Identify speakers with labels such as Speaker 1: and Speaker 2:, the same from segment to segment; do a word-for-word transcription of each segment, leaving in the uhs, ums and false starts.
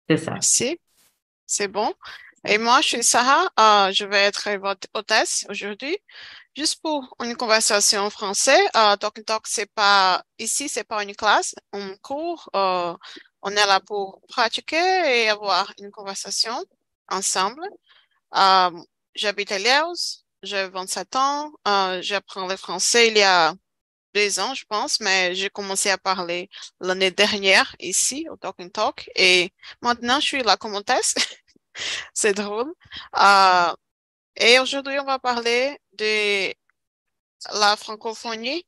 Speaker 1: C'est ça.
Speaker 2: Merci, c'est bon. Et moi, je suis Sarah. Euh, je vais être votre hôtesse aujourd'hui, juste pour une conversation en français. Euh, Talk Talk, c'est pas ici, c'est pas une classe, un cours. Euh, on est là pour pratiquer et avoir une conversation ensemble. Euh, J'habite à Liège, j'ai vingt-sept ans. Euh, j'apprends le français il y a deux ans, je pense, mais j'ai commencé à parler l'année dernière ici au Talk and Talk et maintenant je suis la commentesse. C'est drôle. Euh, et aujourd'hui, on va parler de la francophonie.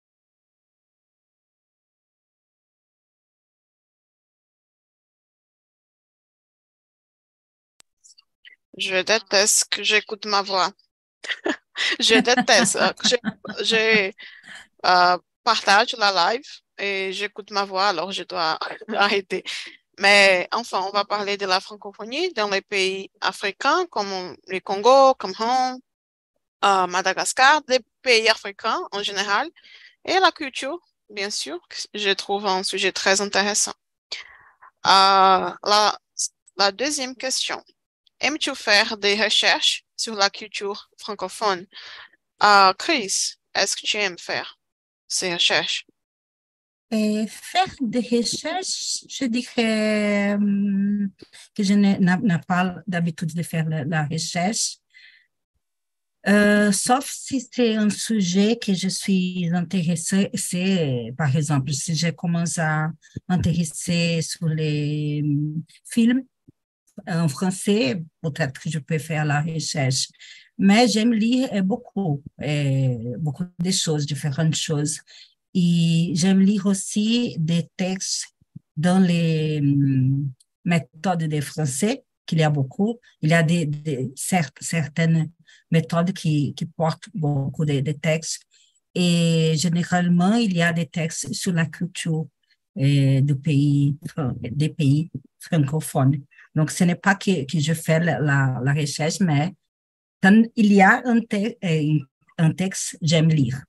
Speaker 2: Je déteste que j'écoute ma voix. Je déteste euh, que je, je euh, partage la live et j'écoute ma voix, alors je dois arrêter. Mais enfin, on va parler de la francophonie dans les pays africains comme le Congo, Cameroun, euh, Madagascar, des pays africains en général, et la culture, bien sûr, que je trouve un sujet très intéressant. Euh, la, la deuxième question, aimes-tu faire des recherches sur la culture francophone? Euh, Chris, est-ce que tu aimes faire ces recherches?
Speaker 3: Et faire des recherches, je dirais hum, que je n'ai n'a- n'a pas d'habitude de faire la, la recherche, euh, sauf si c'est un sujet que je suis intéressée. C'est, par exemple, si je commence à m'intéresser sur les hum, films en français, peut-être que je peux faire la recherche. Mais j'aime lire euh, beaucoup, euh, beaucoup de choses, différentes choses. Et j'aime lire aussi des textes dans les hum, méthodes de français, qu'il y a beaucoup. Il y a des, des cer- certaines méthodes qui, qui portent beaucoup de, de textes. Et généralement, il y a des textes sur la culture euh, du pays, fran- des pays francophones. Donc, ce n'est pas que, que je fais la, la, la recherche, mais quand il y a un, te- euh, un texte, j'aime lire.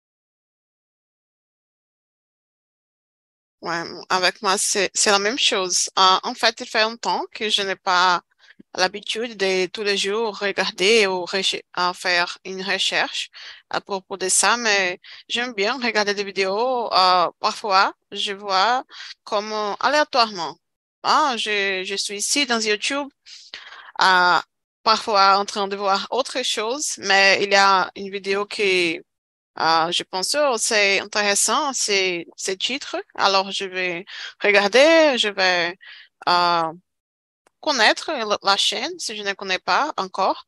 Speaker 2: Ouais, avec moi, c'est, c'est la même chose. Euh, en fait, il fait longtemps que je n'ai pas l'habitude de tous les jours regarder ou reche- à faire une recherche à propos de ça, mais j'aime bien regarder des vidéos. Euh, parfois, je vois comme euh, aléatoirement. Ah, je, je suis ici dans YouTube, euh, parfois en train de voir autre chose, mais il y a une vidéo qui ah, je pense que c'est intéressant, c'est ces titres. Alors, je vais regarder, je vais euh, connaître la la chaîne si je ne connais pas encore.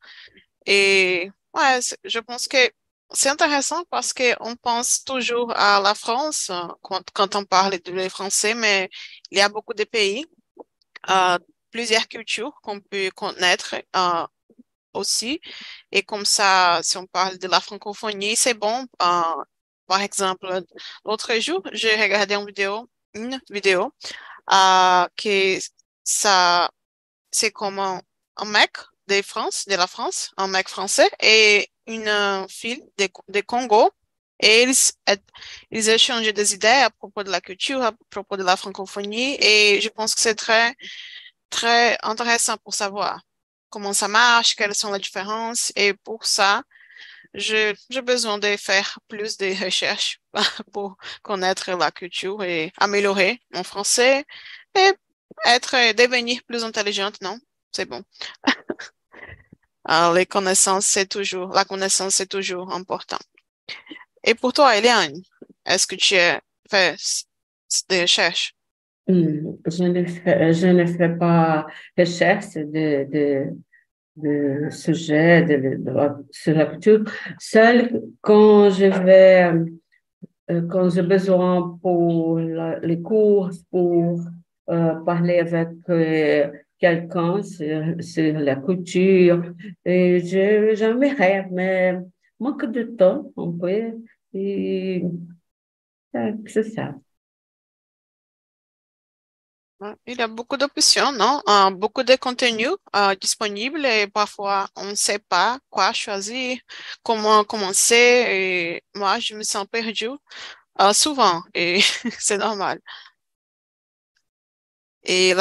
Speaker 2: Et ouais, c'est- je pense que c'est intéressant parce qu'on pense toujours à la France euh, quand, quand on parle de le français, mais il y a beaucoup de pays, euh, plusieurs cultures qu'on peut connaître. Euh, aussi. Et comme ça, si on parle de la francophonie, c'est bon. Euh, par exemple, l'autre jour, j'ai regardé une vidéo, une vidéo euh, que ça, c'est comme un, un mec de France, de la France, un mec français et une euh, fille de, de Congo. Et ils, s- ils échangent des idées à propos de la culture, à propos de la francophonie. Et je pense que c'est très très intéressant pour savoir comment ça marche, quelles sont les différences. Et pour ça, je, j'ai besoin de faire plus de recherches pour connaître la culture et améliorer mon français et être, devenir plus intelligente, non? C'est bon. Alors, les connaissances, c'est toujours, la connaissance, c'est toujours important. Et pour toi, Eliane, est-ce que tu as fait des recherches?
Speaker 1: Hum, Je ne fais, je ne fais pas recherche de, de, de sujet de, de la- sur la culture. Seul quand je vais, euh, quand j'ai besoin pour la- les cours, pour euh, parler avec euh, quelqu'un sur, sur la culture, et je, j'aimerais, mais manque de temps, un peu, et euh, c'est ça.
Speaker 2: Ouais, il y a beaucoup d'options, non? Euh, beaucoup de contenus euh, disponibles et parfois on ne sait pas quoi choisir, comment commencer et moi je me sens perdue euh, souvent et c'est normal. Et la,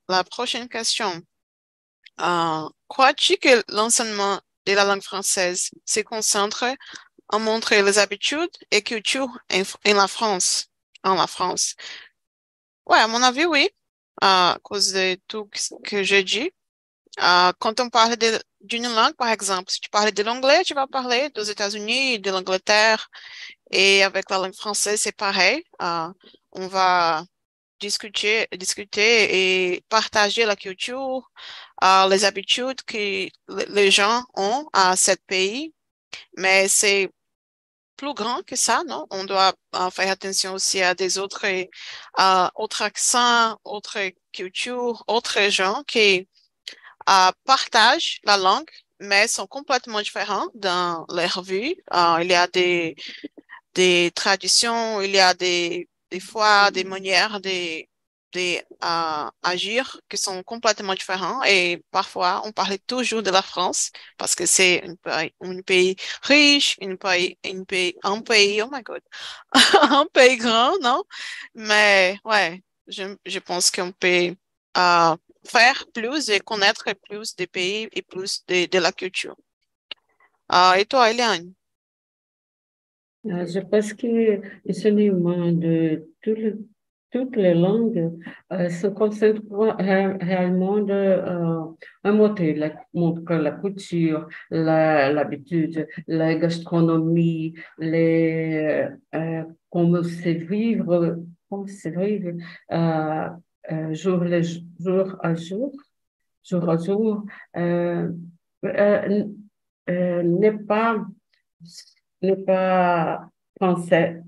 Speaker 2: la prochaine question. Euh, crois-tu que l'enseignement de la langue française se concentre à montrer les habitudes et cultures en, en la France, en la France? Ouais, à mon avis, oui, à cause de tout ce que j'ai dit. Euh, quand on parle de- d'une langue, par exemple, si tu parles de l'anglais, tu vas parler des États-Unis, de l'Angleterre, et avec la langue française, c'est pareil. Euh, on va discuter, discuter et partager la culture, euh, les habitudes que le- les gens ont à ce pays, mais c'est plus grand que ça, non? On doit euh, faire attention aussi à des autres, euh, autres accents, autres cultures, autres gens qui euh, partagent la langue, mais sont complètement différents dans leur vie. Euh, il y a des, des traditions, il y a des, des fois des manières de, de euh, agir qui sont complètement différents et parfois on parle toujours de la France parce que c'est un pays, un pays riche, un pays, un pays, un pays, oh my God, un pays grand, non? Mais ouais, je, je pense qu'on peut euh, faire plus et connaître plus des pays et plus de, de la culture. Euh, et toi, Eliane?
Speaker 1: Euh, Je pense que l'enseignement de tout le- toutes les langues euh, se concentre ré- réellement de euh, un moteur, la, montre la culture, la- l'habitude, la gastronomie, les, euh, comment se vivre, comment se vivre euh, euh, jour, le jour à jour, jour à jour, euh, euh, euh, n'est pas n'est pas français,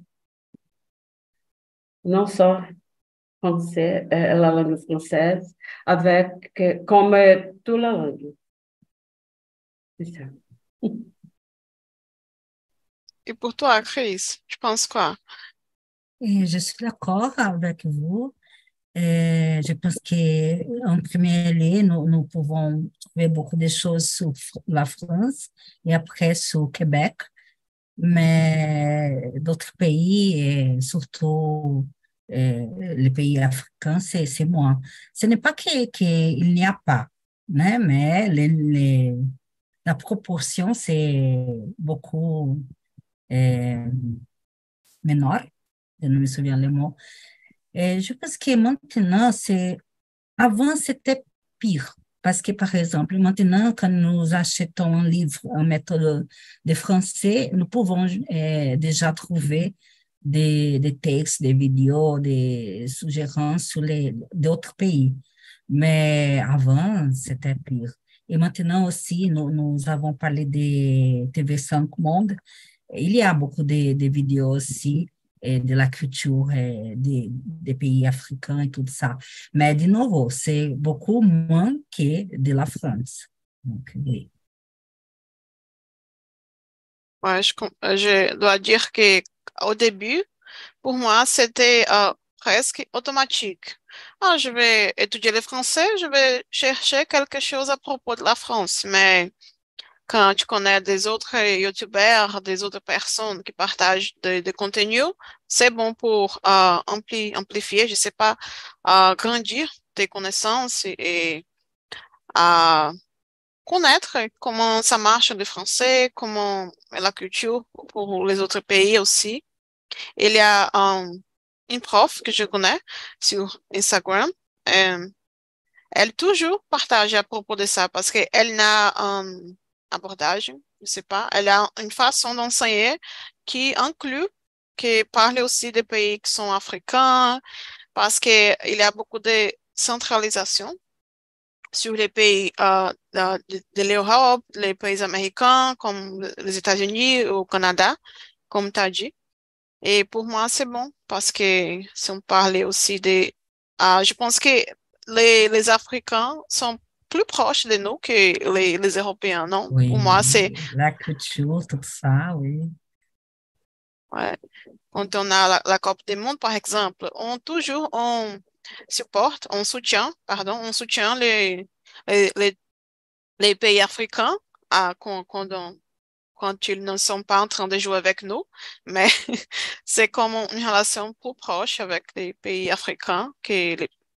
Speaker 1: non só français, euh, la langue française, avec, euh, comme euh, toute la langue. C'est ça.
Speaker 2: Et pour toi, Chris, tu penses quoi?
Speaker 3: Et je suis d'accord avec vous. Et je pense qu'en premier lieu, nous, nous pouvons trouver beaucoup de choses sur la France et après sur Québec, mais d'autres pays, et surtout euh, les pays africains, c'est, c'est moins. Ce n'est pas que, qu'il n'y a pas, né, mais les, les, la proportion, c'est beaucoup euh, menor. Je ne me souviens les mots. Et je pense que maintenant, c'est, avant, c'était pire. Parce que, par exemple, maintenant, quand nous achetons un livre en méthode de français, nous pouvons euh, déjà trouver des, des textes, des vidéos, des suggérences sur les, d'autres pays. Mais avant, c'était pire. Et maintenant aussi, nous, nous avons parlé de T V cinq Monde. Il y a beaucoup de, de vidéos aussi et de la culture et des, des pays africains et tout ça. Mais de nouveau, c'est beaucoup moins que de la France. Donc, oui.
Speaker 2: Ouais, je, com- euh, je dois dire que au début, pour moi, c'était euh, presque automatique. Ah, je vais étudier le français, je vais chercher quelque chose à propos de la France. Mais quand tu connais des autres YouTubers, des autres personnes qui partagent des des contenus, c'est bon pour euh, ampli- amplifier, je sais pas, euh, grandir tes connaissances et, et, euh, connaître comment ça marche le français, comment est la culture pour les autres pays aussi. Il y a um, une prof que je connais sur Instagram. euh, Elle toujours partage à propos de ça parce qu'elle n'a un abordage, je sais pas, elle a une façon d'enseigner qui inclut, qui parle aussi des pays qui sont africains parce qu'il y a beaucoup de centralisation sur les pays euh, de, de- de l'Europe, les pays américains comme les États-Unis ou au Canada, comme tu as dit. Et pour moi, c'est bon parce que si on parlait aussi des... ah, je pense que les, les Africains sont plus proches de nous que les, les Européens, non? Pour
Speaker 3: Oui,
Speaker 2: moi, c'est...
Speaker 3: la culture, tout ça, oui.
Speaker 2: ouais. Quand on a la, la Coupe du Monde, par exemple, on toujours on supporte, on soutient, pardon, on soutient les, les, les les pays africains, ah, quand, quand, on- quand ils ne sont pas en train de jouer avec nous, mais c'est comme une relation plus proche avec les pays africains que les,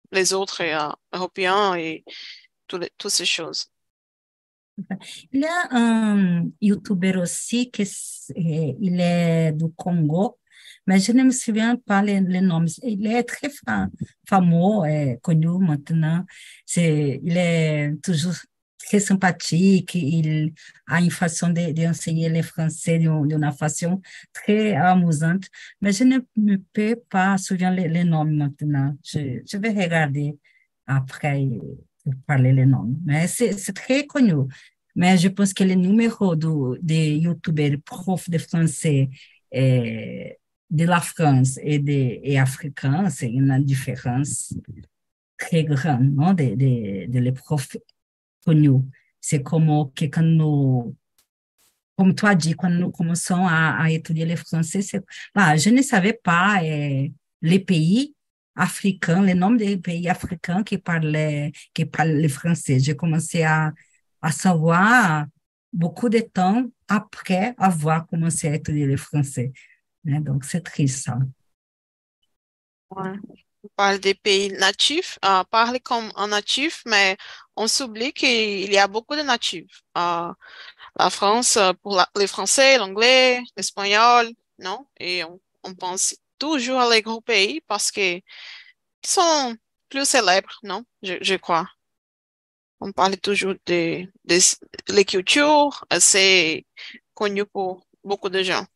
Speaker 2: les autres euh, Européens et toutes les- toutes ces choses.
Speaker 3: Il y a un YouTuber aussi qui s- eh, il est du Congo, mais je ne me souviens pas les, les noms. Il est très fa- fameux et connu maintenant. C'est, il est toujours très sympathique. Il a une façon de, d'enseigner le français d'une d'une façon très amusante, mais je ne me peux pas souvenir les, les noms maintenant. Je, je vais regarder après pour parler les noms. Mais c'est c'est très connu. Mais je pense que le numéro do, de youtubeurs prof de français eh, de la France et, de, et africain, c'est une différence très grande, non, de, de, de les profs connus. C'est comme que quand nous, comme tu as dit, quand nous commençons à, à étudier le français, c'est, bah, je ne savais pas eh, les pays africains, les noms des pays africains qui parlaient, qui parlent le français. J'ai commencé à, à savoir beaucoup de temps après avoir commencé à étudier le français. Hein, donc, c'est triste, ça.
Speaker 2: Ouais. On parle des pays natifs, euh, parler comme un natif, mais on s'oublie qu'il y a beaucoup de natifs. Euh, la France, euh, pour la- les Français, l'anglais, l'espagnol, non? Et on, on pense toujours à les gros pays parce que ils sont plus célèbres, non? Je, je crois. On parle toujours de, de les cultures, assez connues pour beaucoup de gens.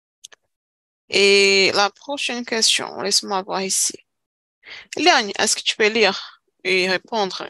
Speaker 2: Et la prochaine question, laisse-moi voir ici. Eliane, est-ce que tu peux lire et répondre?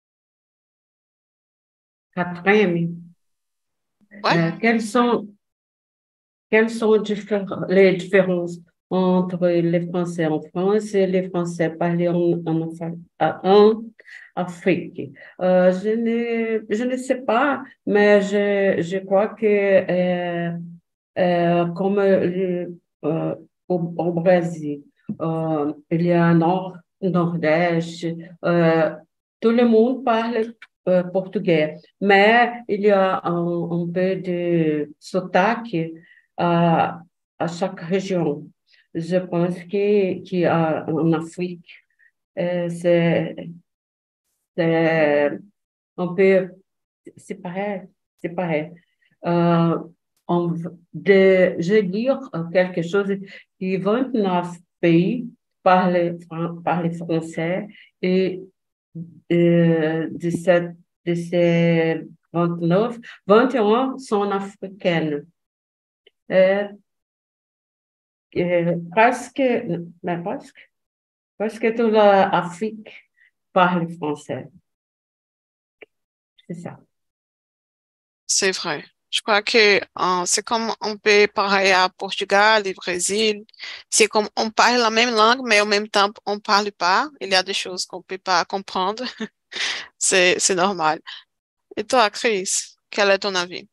Speaker 1: Quatrième,
Speaker 2: Ouais?
Speaker 1: euh, quelles sont, quelles sont diffé- les différences entre les Français en France et les Français parlés en, en, Afri- en Afrique? Euh, je ne, je ne sais pas, mais je, je crois que euh, euh, comme le- euh, au, au Brésil, euh, il y a Nord, Nordeste, euh, tout le monde parle euh, portugais, mais il y a un, un peu de sotaque à, à chaque région. Je pense que, qu'il y a en Afrique, euh, c'est, c'est un peu, c'est pareil, c'est pareil. Euh, on, de, je lire quelque chose qui vingt-neuf pays parlent, fran- parlent français et euh, de, cette, de ces vingt-neuf, vingt et un sont africaines. Euh, euh, presque, mais presque, presque toute l'Afrique parle français. C'est ça.
Speaker 2: C'est vrai. Je crois que euh, c'est comme on peut parler à Portugal et Brésil. C'est comme on parle la même langue, mais en même temps, on parle pas. Il y a des choses qu'on peut pas comprendre. C'est, c'est normal. Et toi, Chris, quel est ton avis?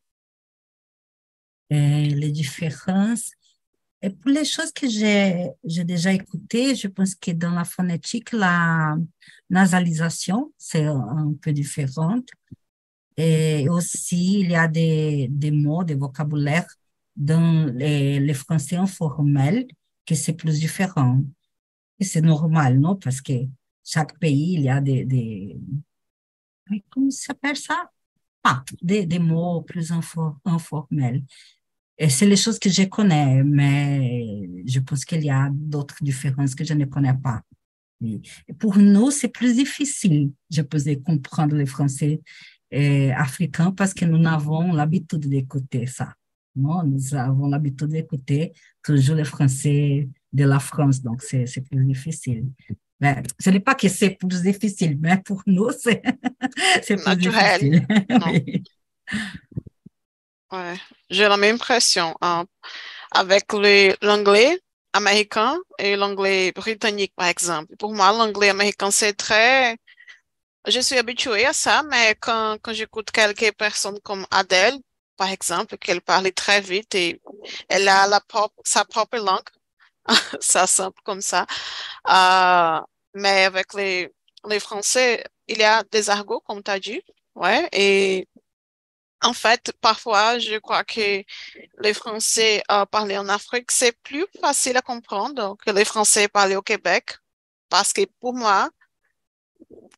Speaker 3: Et les différences. Et pour les choses que j'ai j'ai déjà écoutées, je pense que dans la phonétique, la nasalisation, c'est un peu différente. Et aussi, il y a des, des mots, des vocabulaires dans les, les français informels que c'est plus différent. Et c'est normal, non? Parce que chaque pays, il y a des, des comment ça s'appelle ça? Ah, des, des mots plus infor- informels. Et c'est les choses que je connais, mais je pense qu'il y a d'autres différences que je ne connais pas. Et pour nous, c'est plus difficile, je pense, de comprendre le français euh, africain parce que nous avons l'habitude d'écouter ça. Non, nous avons l'habitude d'écouter toujours le français de la France, donc c'est c'est plus difficile. Mais ce n'est pas que c'est plus difficile, mais pour nous, c'est c'est plus
Speaker 2: Naturel,
Speaker 3: difficile.
Speaker 2: non?
Speaker 3: Oui.
Speaker 2: Ouais. J'ai la même impression hein, avec le- l'anglais américain et l'anglais britannique, par exemple. Pour moi, l'anglais américain, c'est très... Je suis habituée à ça, mais quand, quand j'écoute quelques personnes comme Adele, par exemple, qu'elle parle très vite et elle a la propre, sa propre langue, ça simple comme ça. Euh, mais avec les, les Français, il y a des argots, comme tu as dit. Ouais, et en fait, parfois, je crois que les Français euh, parlés en Afrique, c'est plus facile à comprendre que les Français parlés au Québec. Parce que pour moi,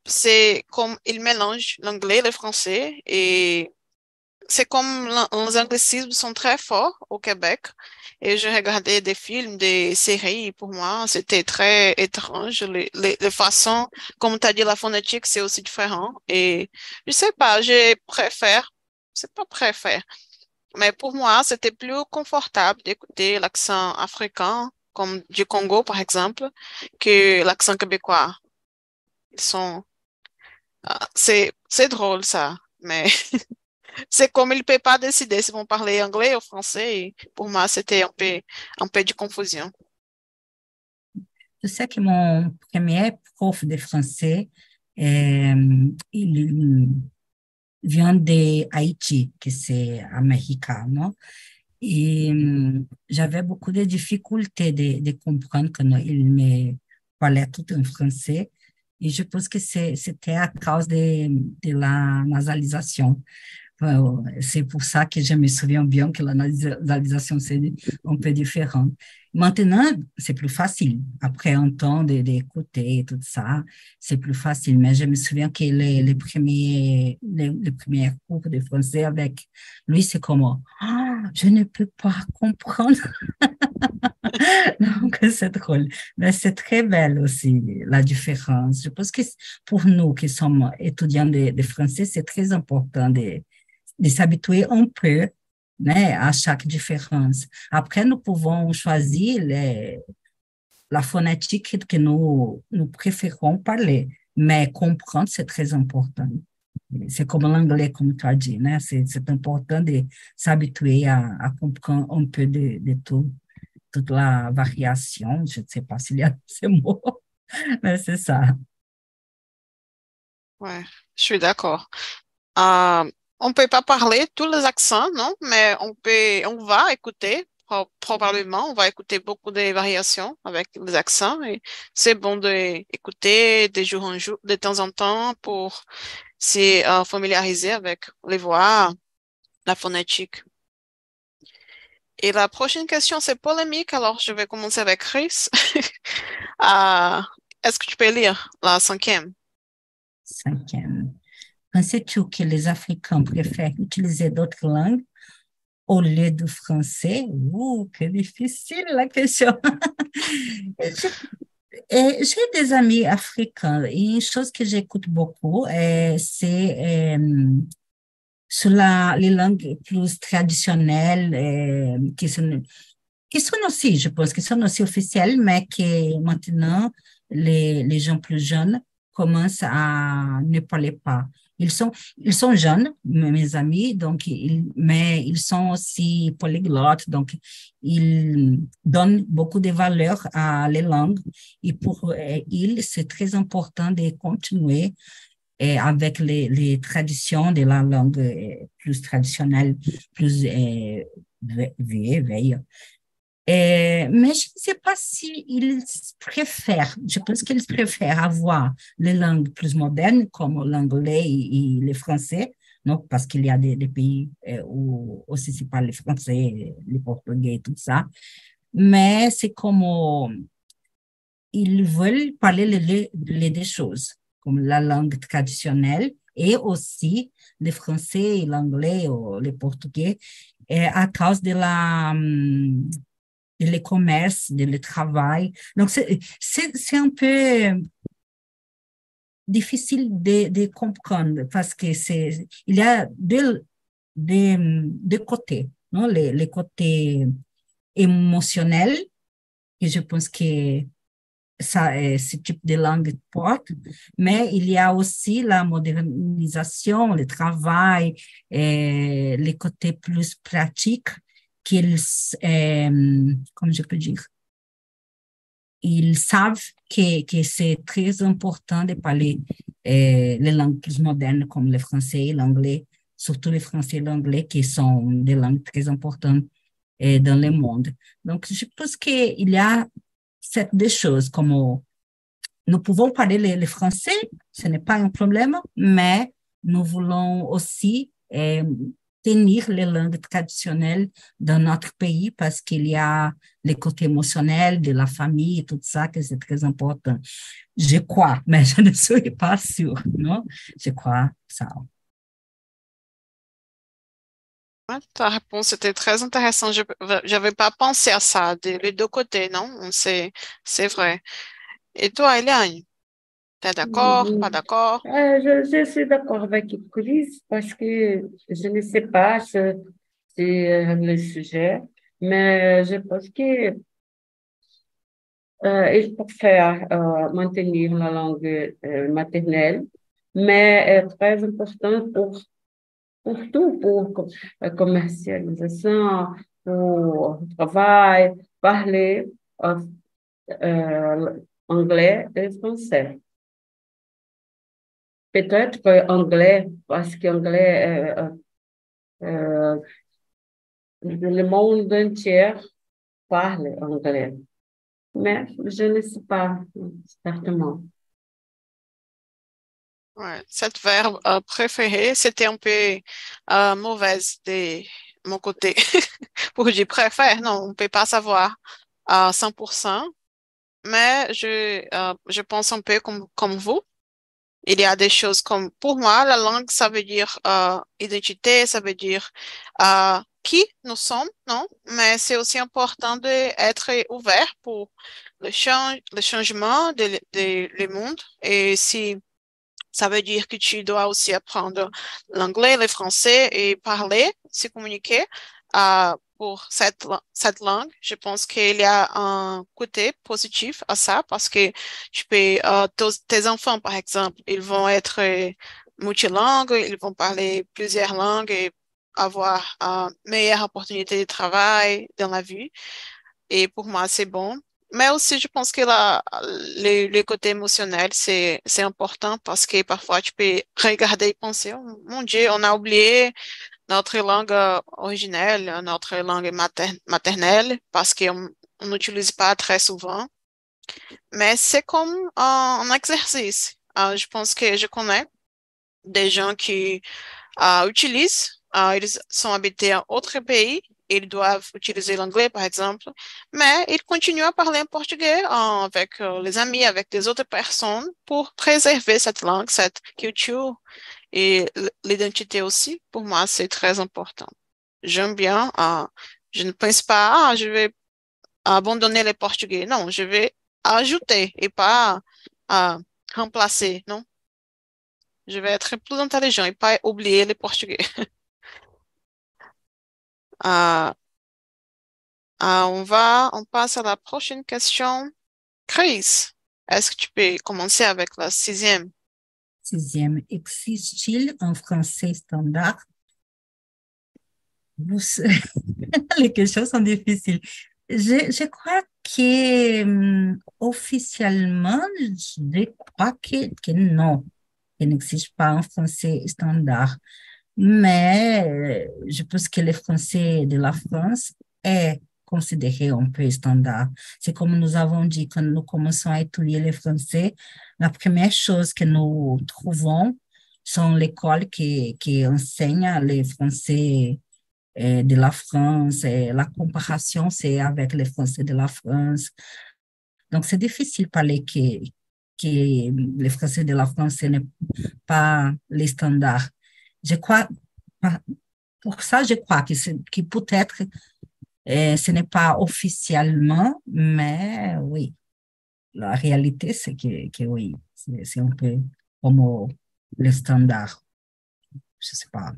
Speaker 2: c'est comme il mélange l'anglais et le français et c'est comme les anglicismes sont très forts au Québec et je regardais des films, des séries, pour moi, c'était très étrange. Les, les, les façons, comme tu as dit, la phonétique, c'est aussi différent. Et je sais pas, je préfère, c'est pas préfère, mais pour moi, c'était plus confortable d'écouter l'accent africain, comme du Congo, par exemple, que l'accent québécois. Ils sont, ah, c'est, c'est drôle, ça, mais c'est comme il ne peut pas décider s'ils vont parler anglais ou français. Et pour moi, c'était un peu, un peu de confusion.
Speaker 3: Je sais que mon premier prof de français, euh, il vient de Haïti, que c'est américain, non? Et euh, j'avais beaucoup de difficultés de, de comprendre quand il me parlait tout en français. Et je pense que c'est- c'était à cause de, de la nasalisation. Euh, C'est pour ça que je me souviens bien que la nasalisation, c'est un peu différent. Maintenant, c'est plus facile. Après un temps de- d'écouter tout ça, c'est plus facile. Mais je me souviens que les, les premiers, les, les premiers cours de français avec lui, c'est comme, ah, je ne peux pas comprendre. Donc, c'est drôle. Mais c'est très belle aussi, la différence. Je pense que pour nous qui sommes étudiants de, de français, c'est très important de, de s'habituer un peu, né, à chaque différence. Après, nous pouvons choisir les, la phonétique que nous, nous préférons parler, mais comprendre, c'est très important. C'est comme l'anglais, comme tu as dit, né? C'est, c'est important de s'habituer à, à comprendre un peu de, de tout, toute la variation. Je ne sais pas s'il y a ces mots, mais c'est ça.
Speaker 2: Ouais, je suis d'accord. Euh, on ne peut pas parler tous les accents, non, mais on peut, on va écouter, pro- probablement, on va écouter beaucoup de variations avec les accents et c'est bon d'écouter de jour en jour, de temps en temps pour se euh, familiariser avec les voix, la phonétique. Et la prochaine question, c'est polémique, alors je vais commencer avec Chris. Euh, est-ce que tu peux lire la cinquième?
Speaker 3: Cinquième. Penses-tu que les Africains préfèrent utiliser d'autres langues au lieu du français? Ouh, que difficile la question. Je- et J'ai des amis africains et une chose que j'écoute beaucoup, euh, c'est euh, sur la, les langues plus traditionnelles, euh, qui sont, qui sont aussi, je pense, qui sont aussi officielles, mais que maintenant, les, les gens plus jeunes commencent à ne parler pas. Ils sont, ils sont jeunes, mes mes amis, donc ils, mais ils sont aussi polyglottes, donc ils donnent beaucoup de valeur à les langues. Et pour euh, ils, c'est très important de continuer et avec les, les traditions de la langue euh, plus traditionnelle, plus euh, vieille, vieille. Euh, mais je ne sais pas s'ils préfèrent, je pense qu'ils préfèrent avoir les langues plus modernes comme l'anglais et, et le français, non, parce qu'il y a des, des pays euh, où aussi se parle le français, le portugais et tout ça. Mais c'est comme euh, ils veulent parler les, les, les deux choses, comme la langue traditionnelle et aussi le français, l'anglais ou le portugais, euh, à cause de la, hum, de le commerce, de le travail. Donc, c'est, c'est, c'est un peu difficile de, de comprendre parce que c'est, il y a deux, deux, deux côtés, non? Les, les côtés émotionnels, et je pense que ça, euh, ce type de langue porte, mais il y a aussi la modernisation, le travail, et les côtés plus pratiques qu'ils, euh, comme je peux dire, ils savent que, que c'est très important de parler euh, les langues plus modernes comme le français et l'anglais, surtout le français et l'anglais qui sont des langues très importantes euh, dans le monde. Donc, je pense qu'il y a ces deux choses, comme nous pouvons parler le, le français, ce n'est pas un problème, mais nous voulons aussi euh, tenir les langues traditionnelles dans notre pays parce qu'il y a le côté émotionnel de la famille, tout ça, que c'est très important. Je crois, mais je ne suis pas sûre, non? Je crois ça.
Speaker 2: Ouais, ta réponse était très intéressante. Je n'avais pas pensé à ça, des les deux côtés, non? C'est, c'est vrai. Et toi, Eliane, t'es d'accord, pas
Speaker 1: Mhm.
Speaker 2: d'accord?
Speaker 1: Euh, je, je suis d'accord avec Chris parce que je ne sais pas ce, c'est euh, le sujet, mais je pense que euh, il faut faire euh, maintenir la langue euh, maternelle, mais est très important pour, pour tout, pour co- euh, commercialisation, pour travail, parler euh, euh, anglais et français. Peut-être que anglais, parce qu'anglais, euh, euh, le monde entier parle anglais. Mais je ne sais pas, certainement.
Speaker 2: Ouais, cette verbe euh, préférée, c'était un peu euh, mauvaise de mon côté. Pour dire préfère, non, on ne peut pas savoir à cent pour cent, mais je, euh, je pense un peu comme, comme vous. Il y a des choses comme, pour moi, la langue, ça veut dire euh, identité, ça veut dire euh, qui nous sommes, non? Mais c'est aussi important d'être ouvert pour le change, le changement de, de, le monde. Et si ça veut dire que tu dois aussi apprendre l'anglais, le français et parler, se communiquer euh, pour cette, la- cette langue. Je pense qu'il y a un côté positif à ça parce que tu peux, euh, tos- tes enfants, par exemple, ils vont être euh, multilingues, ils vont parler plusieurs langues et avoir une meilleure opportunité de travail dans la vie. Et pour moi, c'est bon. Mais aussi, je pense que la, le, le côté émotionnel, c'est, c'est important parce que parfois, tu peux regarder et penser, oh, mon Dieu, on a oublié notre langue euh, originelle, notre langue mater- maternelle, parce qu'on on n'utilise pas très souvent. Mais c'est comme un, un exercice. Euh, je pense que je connais des gens qui euh, utilisent. Euh, ils sont habités en autre pays, ils doivent utiliser l'anglais, par exemple, mais ils continuent à parler en portugais euh, avec euh, les amis, avec des autres personnes pour préserver cette langue, cette culture et l- l'identité aussi. Pour moi, c'est très important. J'aime bien. Euh, je ne pense pas, ah, je vais abandonner le portugais. Non, je vais ajouter et pas euh, remplacer. Non, je vais être plus intelligent et pas oublier le portugais. Euh, Ah, on va, on passe à la prochaine question. Chris, est-ce que tu peux commencer avec la sixième?
Speaker 3: Sixième, existe-t-il un français standard? Vous- Les questions sont difficiles. Je, je crois que hum, officiellement, je crois que, que non, qu'il n'existe pas un français standard. Mais euh, je pense que le français de la France est considéré un peu standard. C'est comme nous avons dit quand nous commençons à étudier le français, la première chose que nous trouvons sont l'école qui, qui enseigne le français euh, de la France, et la comparaison, c'est avec les Français de la France. Donc, c'est difficile de parler que, que les Français de la France, ce n'est pas les standards. Je crois, pour ça, je crois que, c'est- que peut-être euh, ce n'est pas officiellement, mais oui, la réalité, c'est que, que oui, c'est c'est un peu comme le standard. Je sais pas.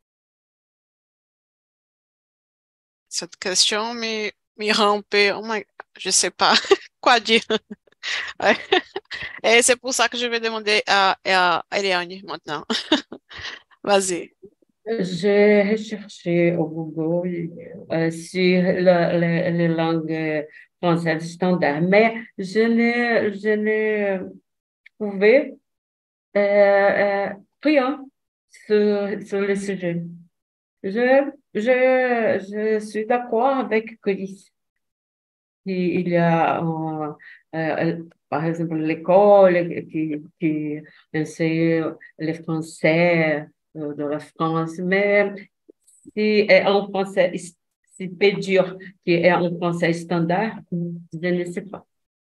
Speaker 2: Cette question me, me rend un peu, oh my, je sais pas quoi dire. Ouais. Et c'est pour ça que je vais demander à, à Eliane maintenant. Vas-y.
Speaker 1: J'ai recherché au Google euh, sur la- la- les langues françaises standards, mais je n'ai je n'ai trouvé euh, euh, rien sur, sur le sujet. Je, je, je suis d'accord avec Chris. Il il y a, euh, euh, par exemple, l'école qui, qui enseigne le français euh, de la France, mais si est en français, si peut dire que est en français standard, je ne sais pas.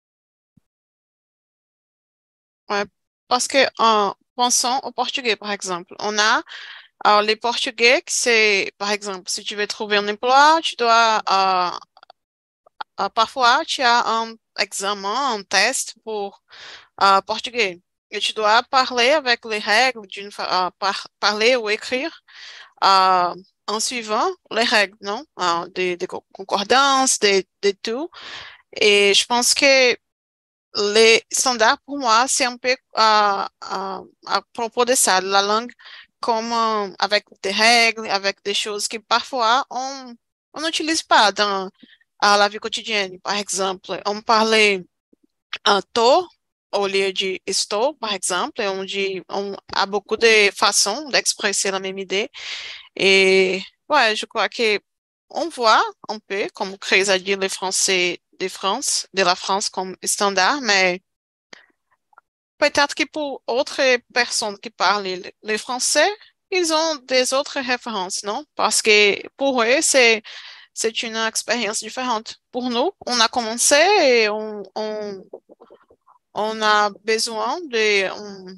Speaker 2: Ouais, parce que en pensant au portugais, par exemple, on a alors, les portugais, c'est, par exemple, si tu veux trouver un emploi, tu dois, euh, euh, parfois, tu as un examen, un test pour euh, portugais. Et tu dois parler avec les règles d'une fa- euh, par- parler ou écrire euh, en suivant les règles, non? Euh, des, des co- concordances, des, des tout. Et je pense que les standards, pour moi, c'est un peu euh, euh, à propos de ça, la langue comme euh, avec des règles, avec des choses que parfois on on n'utilise pas dans à la vie quotidienne. Par exemple, on parlait un tô au lieu de estou, par exemple, onde on a beaucoup de façons d'exprimer la même idée. Et ouais, je crois que on voit un peu, comme Chris a dit, les Français de France, de la France comme standard, mais peut-être que pour autres personnes qui parlent le, le français, ils ont des autres références, non? Parce que pour eux, c'est, c'est une expérience différente. Pour nous, on a commencé et on, on, on a besoin de un,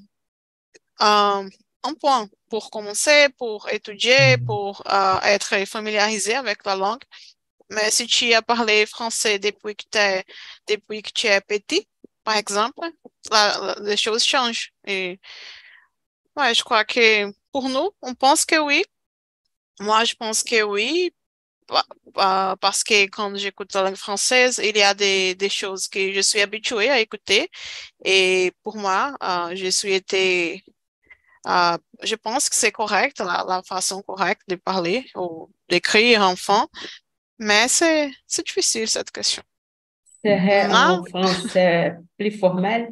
Speaker 2: un, un point pour commencer, pour étudier,
Speaker 4: Mm.
Speaker 2: pour euh, être familiarisé avec la langue. Mais si tu as parlé français depuis que, t'es- depuis que tu es petit, par exemple, la- la- les choses changent. Et ouais, je crois que pour nous, on pense que oui. Moi, je pense que oui, pa- pa- parce que quand j'écoute la langue française, il y a des, des choses que je suis habituée à écouter. Et pour moi, euh, je suis été, euh, je pense que c'est correct, la, la façon correcte de parler ou d'écrire enfant. Mais c'est, c'est difficile, cette question.
Speaker 1: Serait
Speaker 2: On a,
Speaker 1: en français plus formel?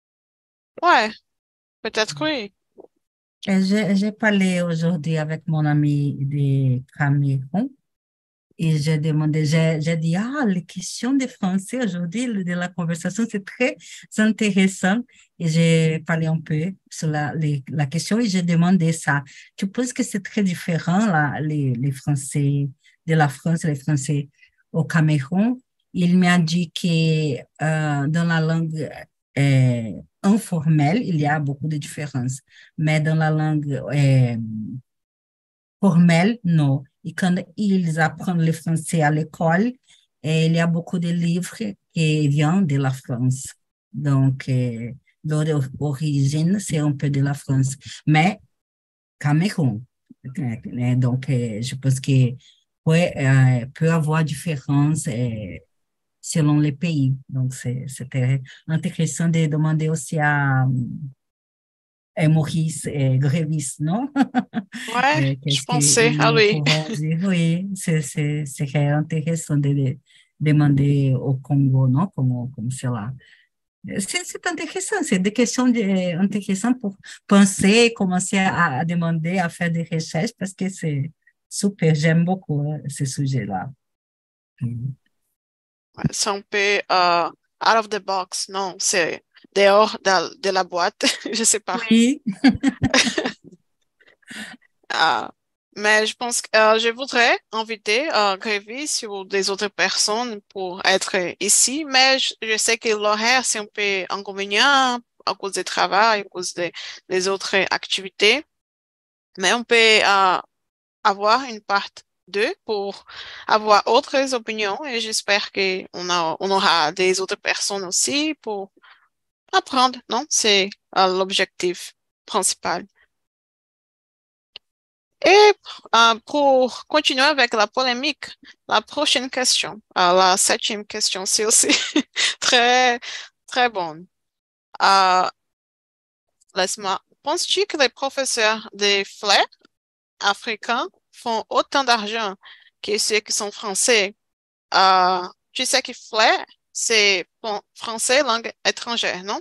Speaker 2: ouais, peut-être que oui.
Speaker 3: Et J'ai j'ai parlé aujourd'hui avec mon ami de Cameroun et j'ai demandé, j'ai j'ai dit, ah, les questions de français aujourd'hui, le- de la conversation, c'est très intéressant. Et j'ai parlé un peu sur la, les- la question et j'ai demandé ça. Tu penses que c'est très différent, là, les, les Français de la France et les Français au Cameroun? Il m'a dit que euh, dans la langue euh, informelle, il y a beaucoup de différences, mais dans la langue euh, formelle, non. Et quand ils apprennent le français à l'école, eh, il y a beaucoup de livres qui viennent de la France. Donc, euh, leur origine, c'est un peu de la France. Mais Cameroun. Euh, Donc, euh, je pense que ouais, euh, peut avoir différence euh, selon les pays. Donc, c'est- c'était intéressant de demander aussi à, à Maurice et Grévis, non?
Speaker 2: Ouais,
Speaker 3: Euh,
Speaker 2: je
Speaker 3: qu'est-ce
Speaker 2: pensais à
Speaker 3: qu'ils
Speaker 2: lui.
Speaker 3: pourront dire? Oui, c'est, c'est, c'est intéressant de de demander au Congo, non? Comment, comme cela. C'est, c'est intéressant, c'est des questions de, intéressantes pour penser, commencer à, à demander, à faire des recherches, parce que c'est super, j'aime beaucoup hein, ce sujet-là. Mm.
Speaker 2: Ouais, c'est un peu euh, out of the box, non, c'est dehors de, de la boîte, je sais pas.
Speaker 3: Oui,
Speaker 2: Euh, mais je pense que euh, je voudrais inviter euh, Grévis ou des autres personnes pour être ici, mais je, je sais que l'horaire, c'est un peu inconvénient à cause du travail, à cause des, des autres activités, mais on peut euh, avoir une part deux pour avoir autres opinions et j'espère qu'on a, on aura des autres personnes aussi pour apprendre, non? C'est euh, l'objectif principal. Et euh, pour continuer avec la polémique, la prochaine question, euh, la septième question, c'est aussi très, très bonne. Euh, laisse-moi. Penses-tu que les professeurs des fleurs africains font autant d'argent que ceux qui sont français? Euh, tu sais que fleur, c'est bon, français, langue étrangère, non?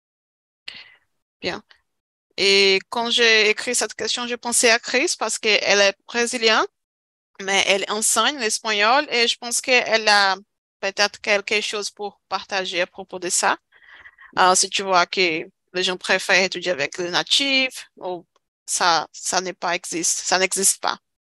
Speaker 2: Bien. Et quand j'ai écrit cette question, j'ai pensé à Chris parce qu'elle est brésilienne, mais elle enseigne l'espagnol et je pense qu'elle a peut-être quelque chose pour partager à propos de ça. Alors, si tu vois que les gens préfèrent étudier avec les natifs, ou ça, ça n'est pas existe, ça n'existe pas.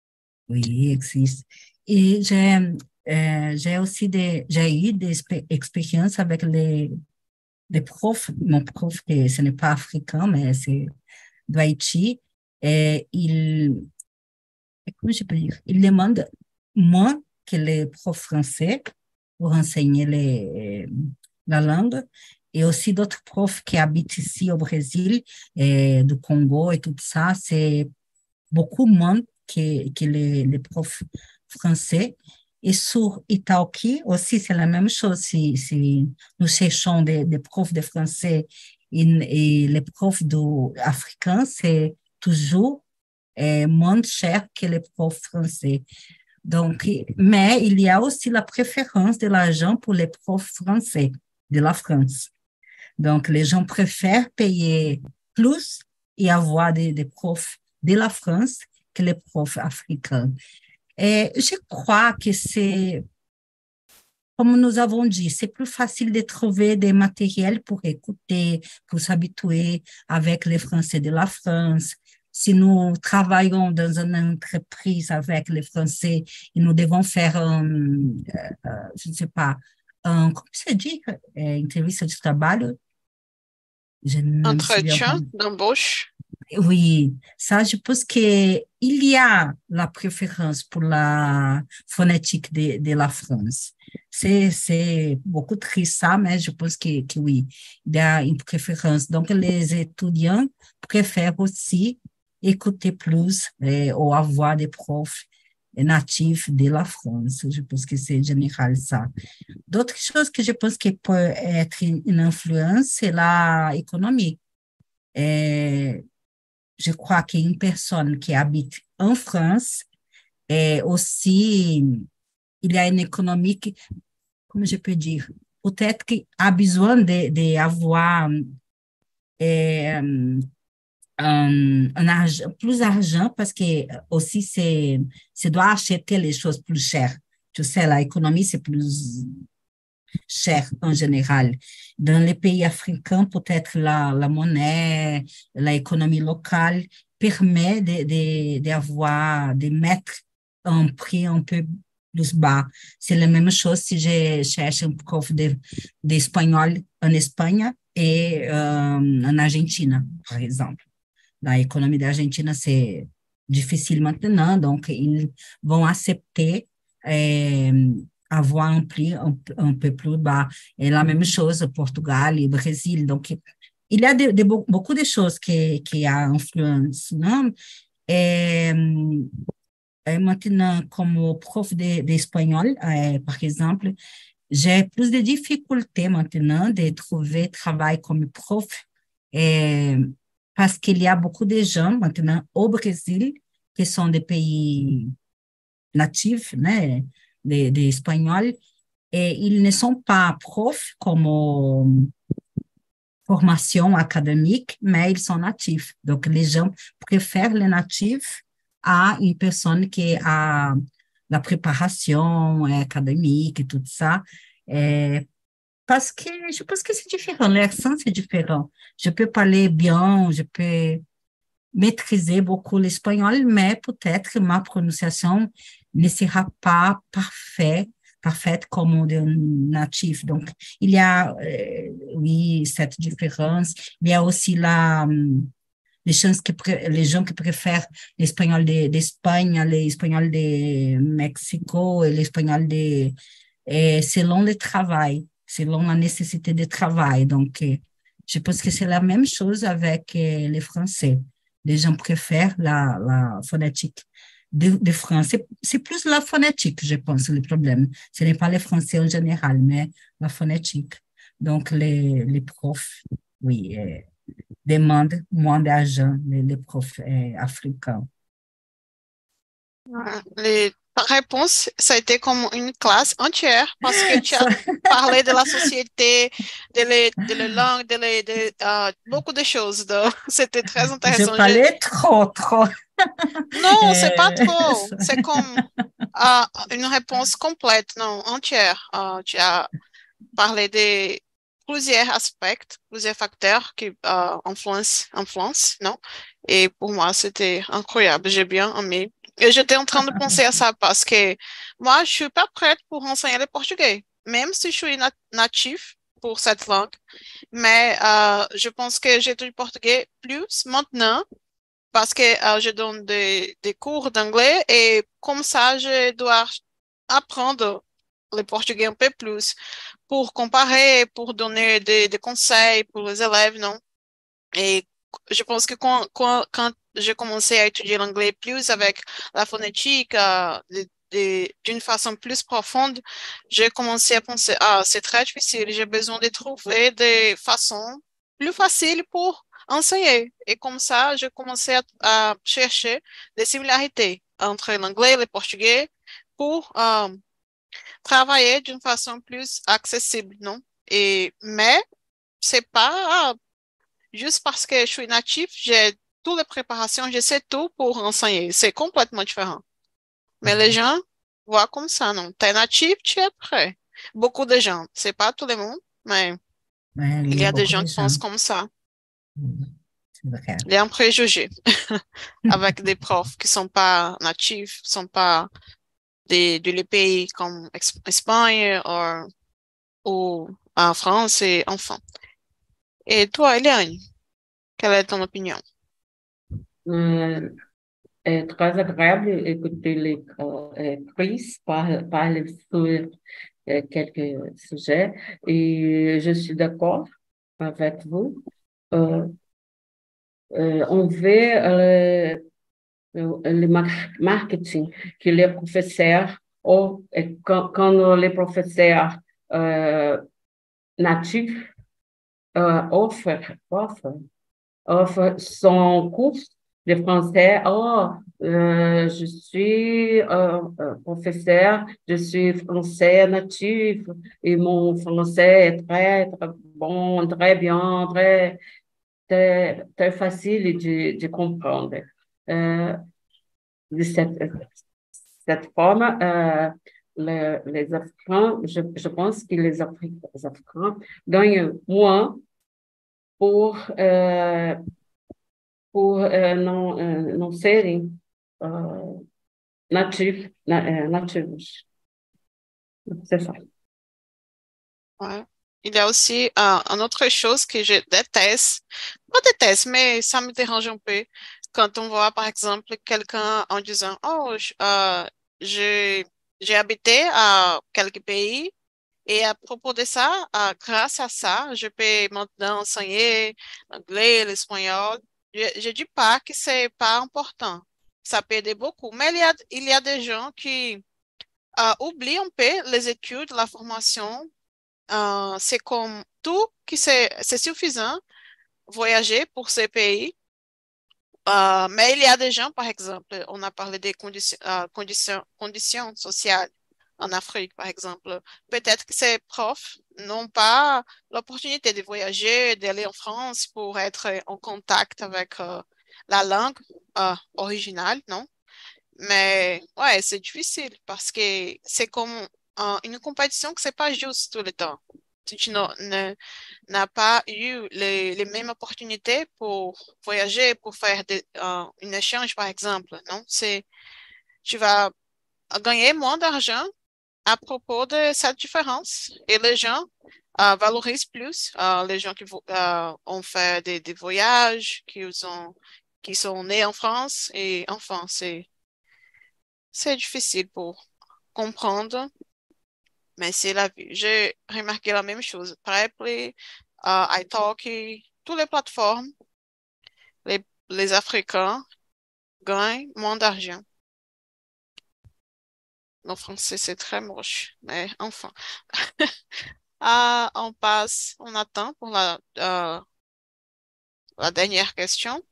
Speaker 3: Oui, existe. Et j'ai euh, j'ai aussi des, j'ai eu des expé- expériences avec les, les profs, mon prof, que ce n'est pas africain, mais c'est d'Haïti, et il, comment je peux dire, il demande moins que les profs français pour enseigner les, la langue, et aussi d'autres profs qui habitent ici au Brésil, et du Congo et tout ça, c'est beaucoup moins que, que les, les profs français. Et sur Italki aussi, c'est la même chose. Si, si nous cherchons des, des profs de français et, et les profs do, africains, c'est toujours euh, moins cher que les profs français. Donc, mais il y a aussi la préférence de l'argent pour les profs français de la France. Donc, les gens préfèrent payer plus et avoir des, des profs de la France que les profs africains. Et je crois que c'est, comme nous avons dit, c'est plus facile de trouver des matériels pour écouter, pour s'habituer avec les Français de la France. Si nous travaillons dans une entreprise avec les Français et nous devons faire, un, euh, je ne sais pas, un, comment se dit, é, entrevista de trabalho, je ne me souviens pas.
Speaker 2: Entretien d'embauche.
Speaker 3: Oui, ça, je pense qu'il y a la préférence pour la phonétique de, de la France. C'est, c'est beaucoup triste ça, mais je pense que, que oui, il y a une préférence. Donc, les étudiants préfèrent aussi écouter plus eh, ou avoir des profs natifs de la France. Je pense que c'est général ça. D'autres choses que je pense qui peut être une influence, c'est l'économie. Eh, je crois qu'une personne qui habite en France est aussi, il y a une économie qui, comment je peux dire, peut-être qu'il a besoin d'avoir de, de euh, un, un argent, plus d'argent parce que aussi c'est, c'est doit acheter les choses plus chères. Tu sais, l'économie, c'est plus cher en général. Dans les pays africains, peut-être la, la monnaie, l'économie locale permet de, de, d'avoir, de mettre un prix un peu plus bas. C'est la même chose si je cherche un prof de, d'espagnol en Espagne et euh, en Argentine, par exemple. L'économie d'Argentine, c'est difficile maintenant, donc ils vont accepter euh, avoir un prix un, un peu plus bas. Et la même chose, Portugal et Brésil. Donc, il y a de, de, beaucoup de choses qui, qui ont influence, non? Et, et maintenant, comme prof d'espagnol, de, de par exemple, j'ai plus de difficultés maintenant de trouver travail comme prof et, parce qu'il y a beaucoup de gens maintenant au Brésil qui sont des pays natifs, né, des de Espagnols, et ils ne sont pas profs comme formation académique, mais ils sont natifs. Donc, les gens préfèrent les natifs à une personne qui a la préparation académique et tout ça. Et parce que je pense que c'est différent, l'accent c'est différent. Je peux parler bien, je peux maîtriser beaucoup l'espagnol, mais peut-être ma prononciation ne sera pas parfaite, parfaite comme de natif. Donc, il y a, euh, oui, cette différence. Il y a aussi la, les, chances que, les gens qui préfèrent l'espagnol d'Espagne, l'espagnol de Mexico et l'espagnol de, et selon le travail, selon la nécessité de travail. Donc, je pense que c'est la même chose avec les Français. Les gens préfèrent la, la phonétique de, de français. C'est plus la phonétique, je pense, le problème. Ce n'est pas les Français en général, mais la phonétique. Donc, les, les profs, oui, euh, demandent moins d'argent, les, les profs euh, africains.
Speaker 2: Les réponses, ça a été comme une classe entière parce que tu as parlé de la société, de, les, de la langue, de, les, de uh, beaucoup de choses. C'était très intéressant.
Speaker 3: Je parlais Je... trop, trop.
Speaker 2: Non, c'est pas trop. C'est comme uh, une réponse complète, non, entière. Uh, tu as parlé de plusieurs aspects, plusieurs facteurs qui euh, influencent, influencent, non? Et pour moi, c'était incroyable. J'ai bien aimé. Et j'étais en train de penser à ça parce que moi, je suis pas prête pour enseigner le portugais, même si je suis nat natif pour cette langue. Mais euh, je pense que j'étudie portugais plus maintenant parce que euh, je donne des, des cours d'anglais et comme ça, je dois apprendre le portugais un peu plus pour comparer, pour donner des, des conseils pour les élèves, non? Et je pense que quand, quand, quand j'ai commencé à étudier l'anglais plus avec la phonétique, euh, de- de- d'une façon plus profonde, j'ai commencé à penser, ah, c'est très difficile, j'ai besoin de trouver des façons plus faciles pour enseigner. Et comme ça, j'ai commencé à, à chercher des similarités entre l'anglais et le portugais pour euh, travailler d'une façon plus accessible, non? Et, mais c'est pas ah, juste parce que je suis natif, j'ai toutes les préparations, je sais tout pour enseigner. C'est complètement différent. Mais les gens voient comme ça, non? T'es natif, tu es prêt. Beaucoup de gens, c'est pas tout le monde, mais
Speaker 3: Ouais,
Speaker 2: il
Speaker 3: il
Speaker 2: y
Speaker 3: y a
Speaker 2: a des
Speaker 3: beaucoup
Speaker 2: gens
Speaker 3: de
Speaker 2: qui
Speaker 3: gens.
Speaker 2: pensent comme ça.
Speaker 3: Mm, c'est vrai.
Speaker 2: Il y a un préjugé avec des profs qui sont pas natifs, sont pas des, de les pays comme Ex- Espagne ou, ou en France et enfin. Et toi, Eliane, quelle est ton opinion?
Speaker 1: Euh, é très agréable écouter les euh, euh, Chris par- parler sur euh, quelques sujets et je suis d'accord avec vous. Euh, euh, on veut euh, le, le mar- marketing que les professeurs ou euh, quand, quand les professeurs euh, natifs euh, offrent, offrent offre son cours de français. Oh, euh, je suis euh, euh, professeur, je suis français natif et mon français est très, très bon, très bien, très, très, très facile de, de comprendre. Euh, de cette, cette forme, euh, le- les Africains, je, je pense que les Afri- les Africains gagnent moins pour euh, por eh, não, eh, não serem ah, nativos, na- eh, nativos. C'est ça.
Speaker 2: Ouais. Il y a aussi euh, une autre chose que je déteste, pas déteste, mais ça me dérange un peu quand on voit par exemple quelqu'un en disant, oh, je- euh, j'ai j'ai habité à quelques pays et à propos de ça, euh, grâce à ça, je peux maintenant enseigner l'anglais, l'espagnol. Je ne dis pas que c'est pas important, ça peut aider beaucoup, mais il y a, il y a des gens qui euh, oublient un peu les études, la formation. Euh, c'est comme tout qui c'est c'est suffisant voyager pour ces pays. Euh, mais il y a des gens, par exemple, on a parlé des conditions, euh, conditions, conditions sociales en Afrique, par exemple. Peut-être que ces profs n'ont pas l'opportunité de voyager, d'aller en France pour être en contact avec euh, la langue euh, originale, non? Mais ouais, c'est difficile parce que c'est comme euh, une compétition que c'est pas juste tout le temps. Si tu n'as ne- n'as pas eu les, les mêmes opportunités pour voyager, pour faire des, euh, un échange, par exemple, non? C'est, tu vas gagner moins d'argent à propos de cette différence. Et les gens euh, valorisent plus euh, les gens qui vo- euh, ont fait des, des voyages, qui ont, qui sont nés en France. Et enfin, c'est c'est difficile pour comprendre, mais c'est la vie. J'ai remarqué la même chose. Preply, euh, italki, toutes les plateformes, les, les Africains gagnent moins d'argent. Le français, c'est très moche, mais enfin. Ah, on passe, on attend pour la, euh, la dernière question.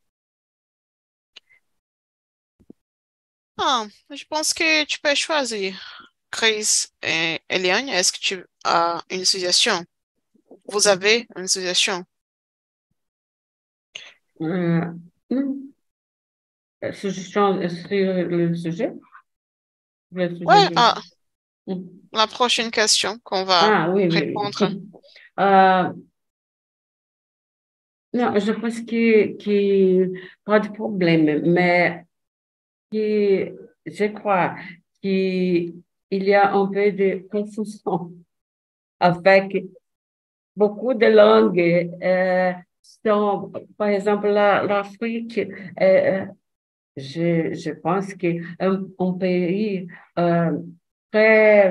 Speaker 2: Ah, je pense que tu peux choisir. Chris et Eliane, est-ce que tu as une suggestion? Vous avez une suggestion?
Speaker 1: Euh, hmm, suggestion sur le sujet? Le sujet
Speaker 2: Ouais,
Speaker 1: de...
Speaker 2: ah,
Speaker 1: Hmm.
Speaker 2: la prochaine question qu'on va
Speaker 1: Ah oui, oui,
Speaker 2: répondre.
Speaker 1: oui. Euh, non, je pense que, que pas de problème, mais que je crois qu'il y a un peu de confusion avec beaucoup de langues. Euh, sont, par exemple, la- l'Afrique, euh, je, je pense que un, un pays euh, très,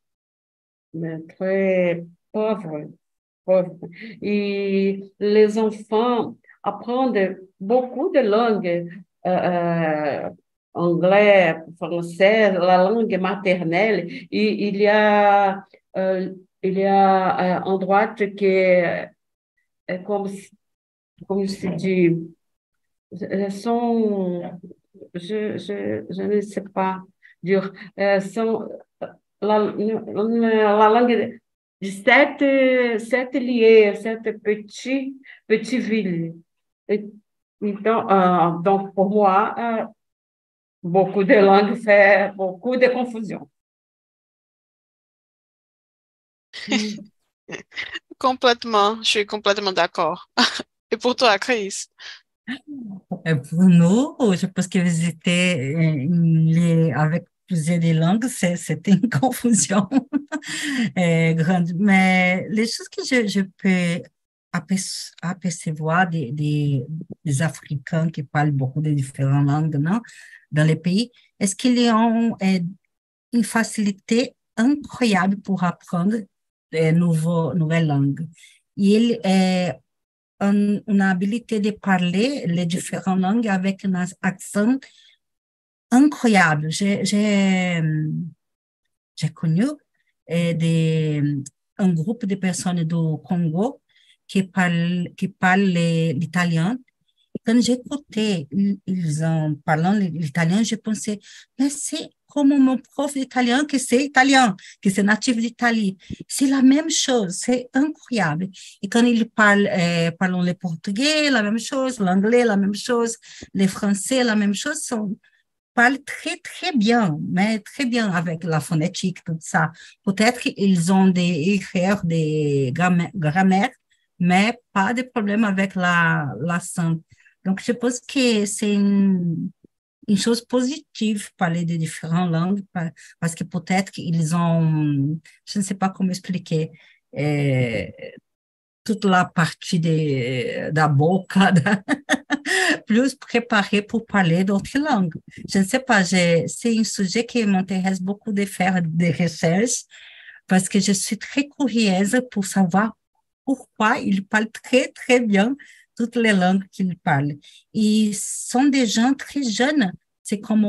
Speaker 1: très pauvre, pauvre. Et les enfants apprennent beaucoup de langues, euh, euh, anglais, français, la langue maternelle. Et il y a, euh, il y a euh, en droite qui est euh, comme, comme se dit, euh, sont, je, je, je ne sais pas dire, euh, sont la, la langue de sete, sete lieux, sete petits, petits villes. Et, então, euh, donc, pour moi, euh, beaucoup de langues fait beaucoup de confusion. Mm.
Speaker 3: Complètement,
Speaker 2: je suis complètement d'accord. Et pour toi, Chris?
Speaker 3: Euh, Pour nous, je pense que visiter euh, les, avec plusieurs des langues, c'est- c'était une confusion euh, grande. Mais les choses que je, je peux aperce- apercevoir des, des, des Africains qui parlent beaucoup de différentes langues, non, dans les pays, est-ce qu'ils ont euh, une facilité incroyable pour apprendre de nouveaux, nouvelles langues? Ils euh, un- une habilité de parler les différentes langues avec un accent incroyable. J'ai, j'ai, euh, j'ai connu euh, des, un groupe de personnes du Congo qui parlent, qui parlent l'italien. Quand j'écoutais ils ils en parlant l'italien, je pensais, mais c'est comme mon prof d'italien que c'est italien, que c'est natif d'Italie. C'est la même chose, c'est incroyable. Et quand ils parlent, euh, parlent le portugais, la même chose, l'anglais, la même chose, les français, la même chose, sont, parlent très, très bien, mais très bien avec la phonétique, tout ça. Peut-être qu'ils ont des erreurs de grammaire, grammaire, mais pas de problème avec la, l'accent. Donc, je pense que c'est une, une chose positive parler de différentes langues, pa- parce que peut-être qu'ils ont, je ne sais pas comment expliquer, euh, toute la partie de, da boca, da, plus préparée pour parler d'autres langues. Je ne sais pas, j'ai- c'est un sujet qui m'intéresse beaucoup de faire des recherches, parce que je suis très curieuse pour savoir pourquoi ils parlent très, très bien toutes les langues qu'ils parlent. Ils sont des gens très jeunes. C'est comme,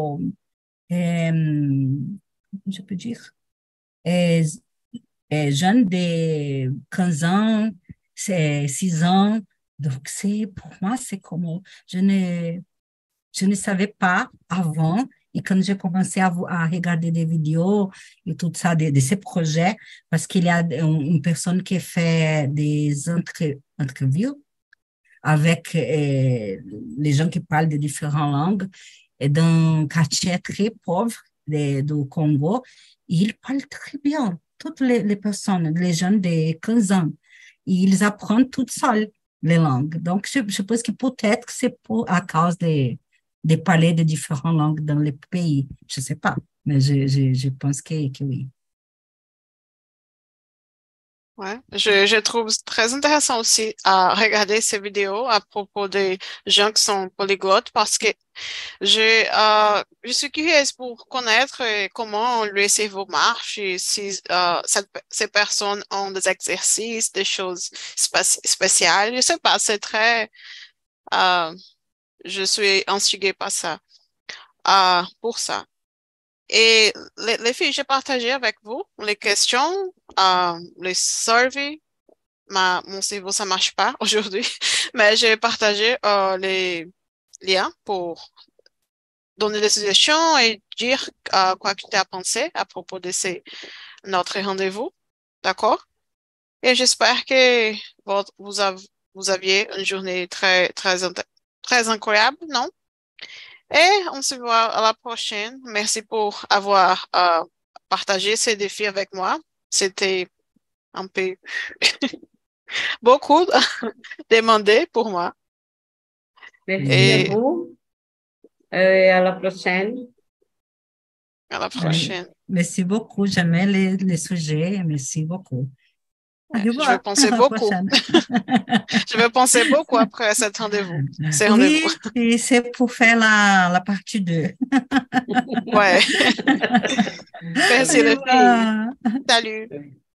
Speaker 3: euh, comment je peux dire, euh, euh, jeunes de quinze ans, c'est six ans. Donc, c'est, pour moi, c'est comme, je ne, je ne savais pas avant. Et quand j'ai commencé à, vo- à regarder des vidéos et tout ça, de, de ces projets, parce qu'il y a un- une personne qui fait des entre, entrevues avec euh, les gens qui parlent de différentes langues et dans un quartier très pauvre de- du Congo, ils parlent très bien. Toutes les, les personnes, les jeunes de quinze ans, ils apprennent toutes seuls les langues. Donc, je, je pense que peut-être que c'est pour, à cause de, de parler de différentes langues dans les pays. Je ne sais pas, mais je, je, je pense que, que oui.
Speaker 2: Ouais, je, je trouve très intéressant aussi à regarder ces vidéos à propos des gens qui sont polyglottes parce que je, euh, je suis curieuse pour connaître euh, comment le cerveau marche et si euh, cette- ces personnes ont des exercices, des choses spéci- spéciales. Je sais pas, c'est très, euh, je suis intriguée par ça, euh, pour ça. Et les, les filles, j'ai partagé avec vous les questions, euh, les surveys. Ma, mon cerveau, ça marche pas aujourd'hui, mais j'ai partagé euh, les liens pour donner des suggestions et dire euh, quoi que tu as pensé à propos de ces, notre rendez-vous. D'accord? Et j'espère que votre- vous, avez, vous aviez une journée très, très, int- très incroyable, non? Et on se voit à la prochaine. Merci pour avoir euh, partagé ces défis avec moi. C'était un peu beaucoup demandé pour moi.
Speaker 1: Merci
Speaker 2: Et
Speaker 1: à vous euh, et à la prochaine.
Speaker 2: à la prochaine.
Speaker 3: Merci beaucoup. J'aimais les, les sujets. Merci beaucoup.
Speaker 2: Ouais,
Speaker 3: Au
Speaker 2: je vais
Speaker 3: revoir.
Speaker 2: penser
Speaker 3: À la
Speaker 2: beaucoup.
Speaker 3: prochaine.
Speaker 2: Je vais penser beaucoup après cet rendez-vous. C'est
Speaker 3: Oui,
Speaker 2: rendez-vous.
Speaker 3: et c'est pour faire la, la partie deux.
Speaker 2: Ouais. Merci
Speaker 3: Au
Speaker 2: les filles.
Speaker 3: revoir.
Speaker 2: Salut.